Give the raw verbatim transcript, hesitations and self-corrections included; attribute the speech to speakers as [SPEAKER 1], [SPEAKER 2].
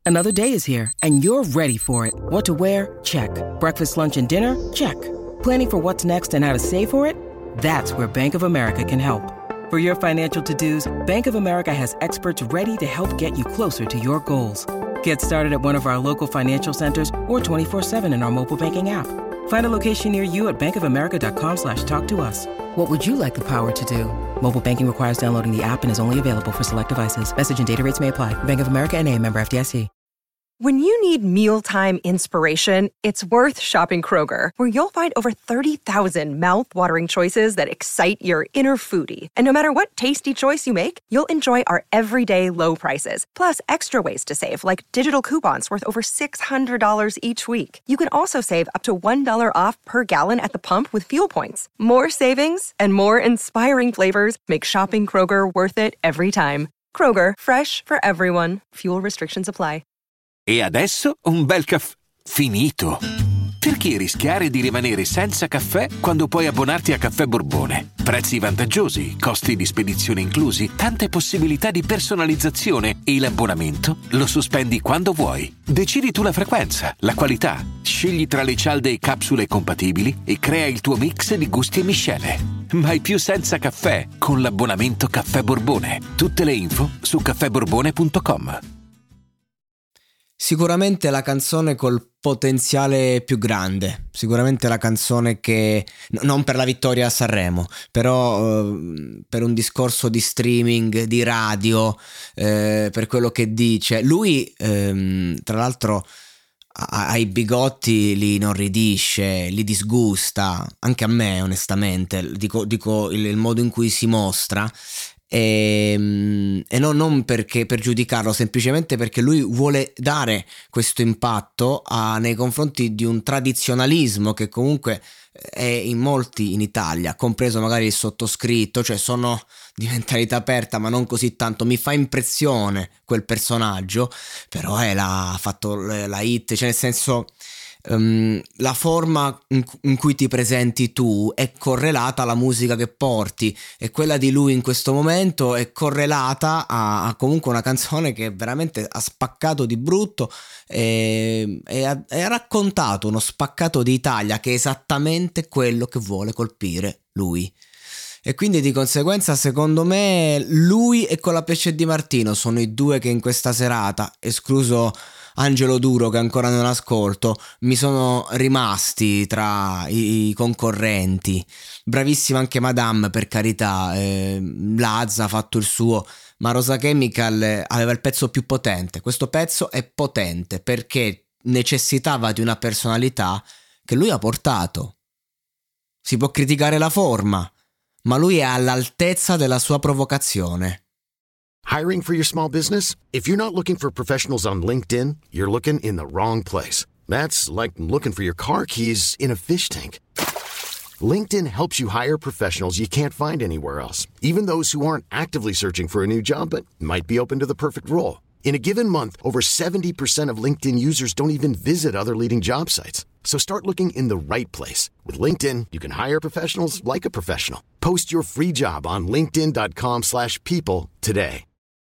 [SPEAKER 1] Another day is here, and you're ready for it. What to wear? Check. Breakfast, lunch, and dinner? Check. Planning for what's next and how to save for it? That's where Bank of America can help. For your financial to-dos, Bank of America has experts ready to help get you closer to your goals. Get started at one of our local financial centers or twenty-four seven in our mobile banking app. Find a location near you at bankofamerica.com slash talk to us. What would you like the power to do? Mobile banking requires downloading the app and is only available for select devices. Message and data rates may apply. Bank of America N A, member F D I C.
[SPEAKER 2] When you need mealtime inspiration, it's worth shopping Kroger, where you'll find over thirty thousand mouth-watering choices that excite your inner foodie. And no matter what tasty choice you make, you'll enjoy our everyday low prices, plus extra ways to save, like digital coupons worth over six hundred dollars each week. You can also save up to one dollar off per gallon at the pump with fuel points. More savings and more inspiring flavors make shopping Kroger worth it every time. Kroger, fresh for everyone. Fuel restrictions apply.
[SPEAKER 3] E adesso un bel caffè finito. Perché rischiare di rimanere senza caffè quando puoi abbonarti a Caffè Borbone? Prezzi vantaggiosi, costi di spedizione inclusi, tante possibilità di personalizzazione e l'abbonamento lo sospendi quando vuoi. Decidi tu la frequenza, la qualità, scegli tra le cialde e capsule compatibili e crea il tuo mix di gusti e miscele. Mai più senza caffè con l'abbonamento Caffè Borbone. Tutte le info su caffè borbone punto com.
[SPEAKER 4] Sicuramente la canzone col potenziale più grande, sicuramente la canzone che, no, non per la vittoria a Sanremo, però eh, per un discorso di streaming, di radio, eh, per quello che dice. Lui ehm, tra l'altro ai bigotti li inorridisce, li disgusta, anche a me onestamente, dico, dico il, il modo in cui si mostra. E, e no, non perché per giudicarlo, semplicemente perché lui vuole dare questo impatto a, nei confronti di un tradizionalismo che comunque è in molti in Italia, compreso magari il sottoscritto, cioè sono di mentalità aperta ma non così tanto. Mi fa impressione quel personaggio, però è la, ha fatto la hit, cioè nel senso Um, la forma in, in cui ti presenti tu è correlata alla musica che porti, e quella di lui in questo momento è correlata a, a comunque una canzone che veramente ha spaccato di brutto e, e, ha, e ha raccontato uno spaccato di Italia che è esattamente quello che vuole colpire lui. E quindi di conseguenza secondo me lui e Colapesce Di Martino sono i due che in questa serata, escluso Angelo Duro che ancora non ascolto, mi sono rimasti tra i, i concorrenti. Bravissima anche Madame, per carità, eh, Lazza ha fatto il suo, ma Rosa Chemical aveva il pezzo più potente. Questo pezzo è potente perché necessitava di una personalità che lui ha portato. Si può criticare la forma, ma lui è all'altezza della sua provocazione.
[SPEAKER 5] Hiring for your small business? If you're not looking for professionals on LinkedIn, you're looking in the wrong place. That's like looking for your car keys in a fish tank. LinkedIn helps you hire professionals you can't find anywhere else, even those who aren't actively searching for a new job but might be open to the perfect role. In a given month, over seventy percent of LinkedIn users don't even visit other leading job sites. So start looking in the right place. With LinkedIn, you can hire professionals like a professional. Post your free job on linkedin dot com slash people today.